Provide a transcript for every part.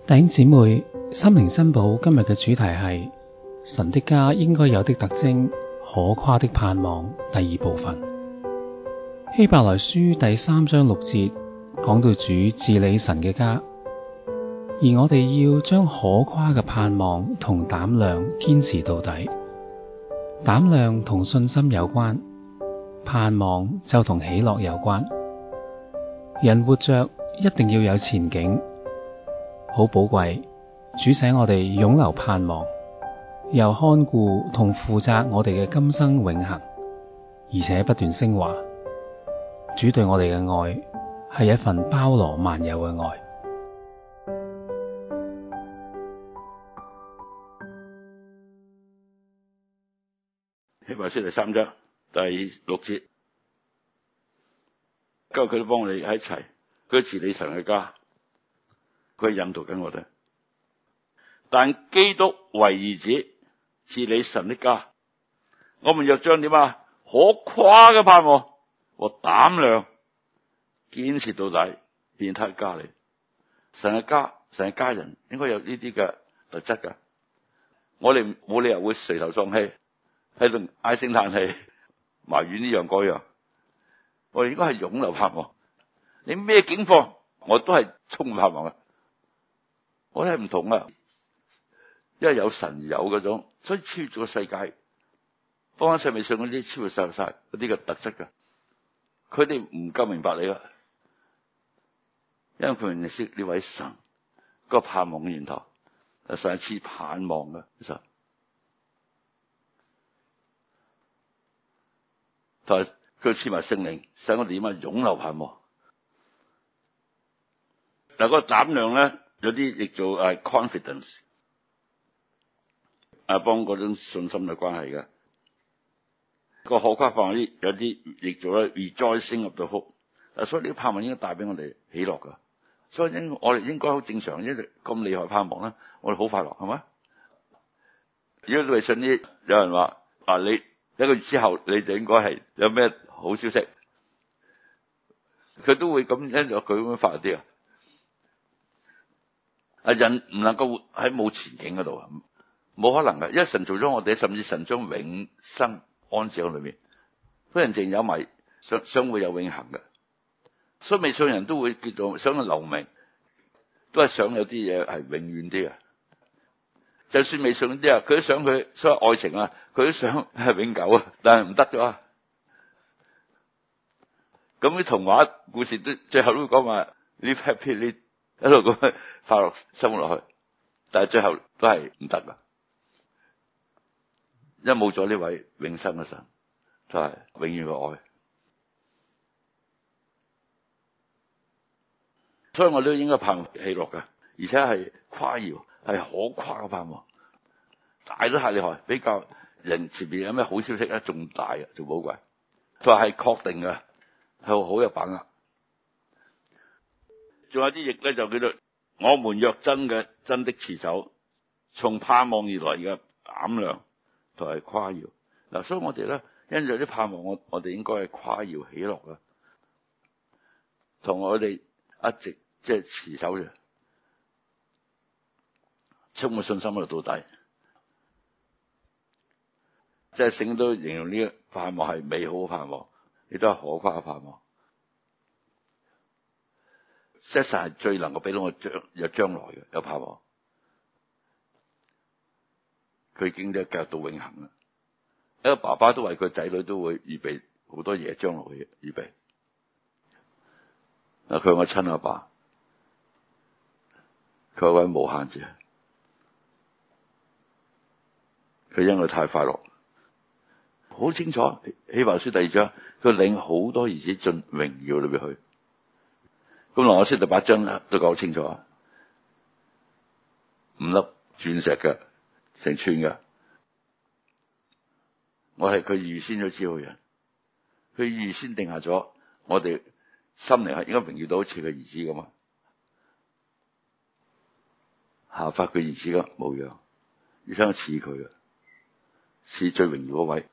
弟兄姊妹，心靈珍寶今日嘅主題係神的家應該有的特徵，可誇的盼望。第二部分，希伯來書第3章6節講到主治理神嘅家，而我哋要將可誇嘅盼望同膽量堅持到底。膽量同信心有關，盼望就同喜樂有關。人活着一定要有前景，好寶貴。主使我哋擁留盼望，又看顧同負責我哋嘅今生永恆，而且不斷升華。主對我哋嘅愛係一份包羅萬有嘅愛。 希伯來書第3章第6節，今日佢都幫我哋喺一齊，佢治理神嘅家，佢引導緊我哋。但基督為兒子治理神的家，我們若將點啊可誇嘅盼望和膽量堅持到底，便他家裏。神嘅家，神嘅家人應該有呢啲嘅特質㗎。我哋冇理由會垂頭喪氣，喺度唉聲嘆氣，埋怨呢樣嗰樣。我哋應該係湧流盼望。你咩境況，我都係充滿盼望嘅。我哋係唔同啊，因為有神有嗰種，所以超越咗個世界。當世未信嗰啲超越晒嗰啲嘅特質㗎。佢哋唔夠明白你㗎，因為佢唔認識呢位神個盼望嘅源頭，神係賜盼望嘅。其實同埋佢賜埋聖靈，使我哋點啊湧流盼望。嗱，嗰個膽量咧，有啲譯做confidence， 幫嗰種信心嘅關係嘅。個可誇盼望啲有啲譯做咧 rejoicing of the hope。所以呢個盼望應該帶俾我哋喜樂噶。所以我哋應該好正常，因為咁厲害盼望咧，我哋好快樂，係咪？如果你微信啲有人話你一個月之後你就應該係有咩好消息，佢都會咁因咗佢咁樣發啲人唔能夠活喺冇前景嗰度，冇可能嘅，因為神做咗我哋，甚至神將永生安置喺裏面，所以人淨有埋想會有永恆嘅。所以未信人都會叫做想去留名，都係想有啲嘢係永遠啲嘅。就算未信啲佢都想佢所謂愛情佢都想係永久但係唔得咗。咁啲童話故事都最後都會講話 live happy， 一路咁快樂生活落去，但係最後都係唔得噶，因為冇咗呢位永生嘅神，就係永遠嘅愛。所以我都應該盼喜樂噶，而且係誇耀，係可誇嘅盼望，大都太厲害，比較人前面有咩好消息咧，仲大啊，仲寶貴。就係確定嘅，係好有把握。仲有啲譯咧就叫做我們若真的持守從盼望而來嘅膽量同埋誇耀。嗱，所以我哋咧因着啲盼望，我哋應該係誇耀喜樂嘅，同我哋一直即係持守嘅，充滿信心喺度到底。即係聖經都形容呢個盼望係美好嘅盼望，亦都係可誇嘅盼望。實係最能夠俾到我有將來嘅，有盼望。佢已經都計到永恆啦。一個爸爸都為佢仔女都會預備好多嘢，將來嘅預備。佢係我親阿爸，佢係位無限者，佢因為太快樂，好清楚。希伯來書第2章，佢領好多兒子進榮耀裏邊去。咁羅馬書第8章都講清楚，5粒鑽石嘅，成串嘅。我係佢預先都知道嘅人，佢預先定下咗我哋心靈係應該榮耀到好似佢兒子咁啊，效法佢兒子嘅模樣，而且似佢嘅，似最榮耀嗰位。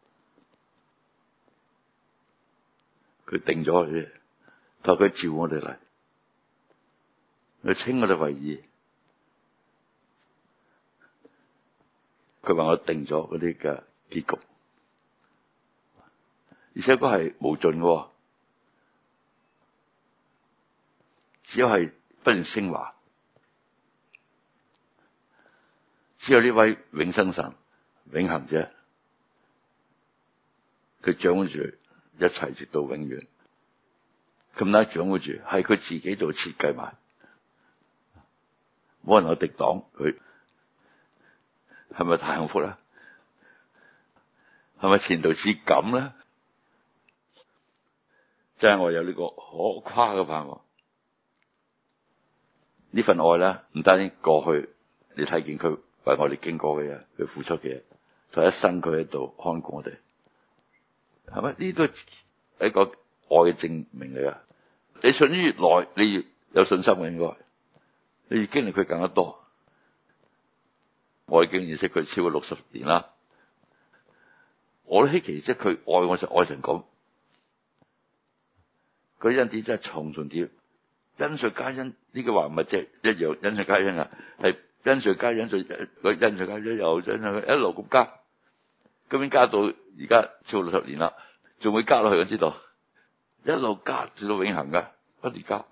佢定咗佢，同佢召我哋嚟，佢稱我哋為義， 佢為我定咗嗰啲嘅結局，而且嗰係無盡嘅，只有係不斷升華，只有呢位永生神、永恆者，佢掌握住一切直到永遠，咁大掌握住係佢自己做設計埋，冇人可以敵擋佢，係咪太幸福啦？係咪前途似錦咧？真係我有呢個可誇嘅盼望。呢份愛咧，唔單止過去你睇見佢為我哋經過嘅嘢，佢付出嘅嘢，就一生佢喺度看顧我哋，係咪？呢都係一個愛嘅證明嚟噶。你信越耐，你越有信心嘅，應該你越經歷佢更加多。我已經認識佢超過60年啦，我都稀奇，即係佢愛我就愛成咁。佢恩典真係重重疊，恩上加恩，呢句話唔係即係一樣恩上加恩啊，係恩上加恩，佢恩上加恩又恩上一路咁加，今年加到而家超過60年啦，仲會加落去，我知道一路加至到永恆噶，不斷加。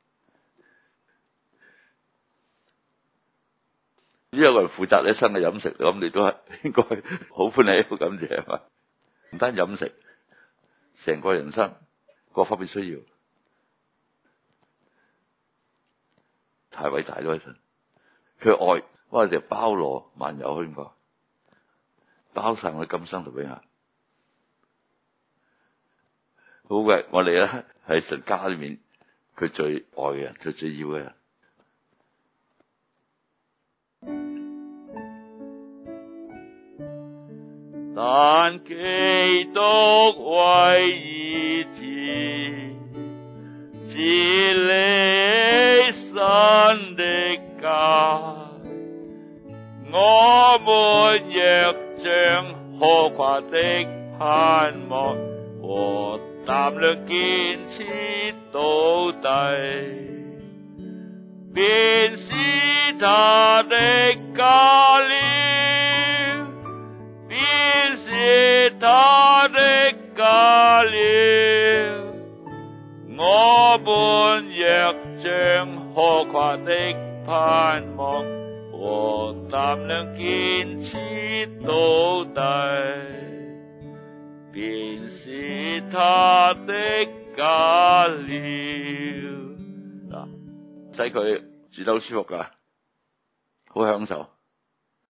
呢有個人負責你一生嘅飲食，咁你都係應該好歡喜好感謝係嘛？唔單飲食，成個人生各方面需要，太偉大咗一份。佢愛我哋包羅萬有，應該包晒我哋今生同永恆。好嘅，我哋咧係神家裏面佢最愛嘅人，佢最要嘅人。但基督為兒子，治理神的家，我們若將可誇的盼望和膽量堅持到底，便是他的家了，便是他的家了。我們若將可誇的盼望和膽量堅持到底，便是他的家了。嗱，使佢住得好舒服噶，好享受。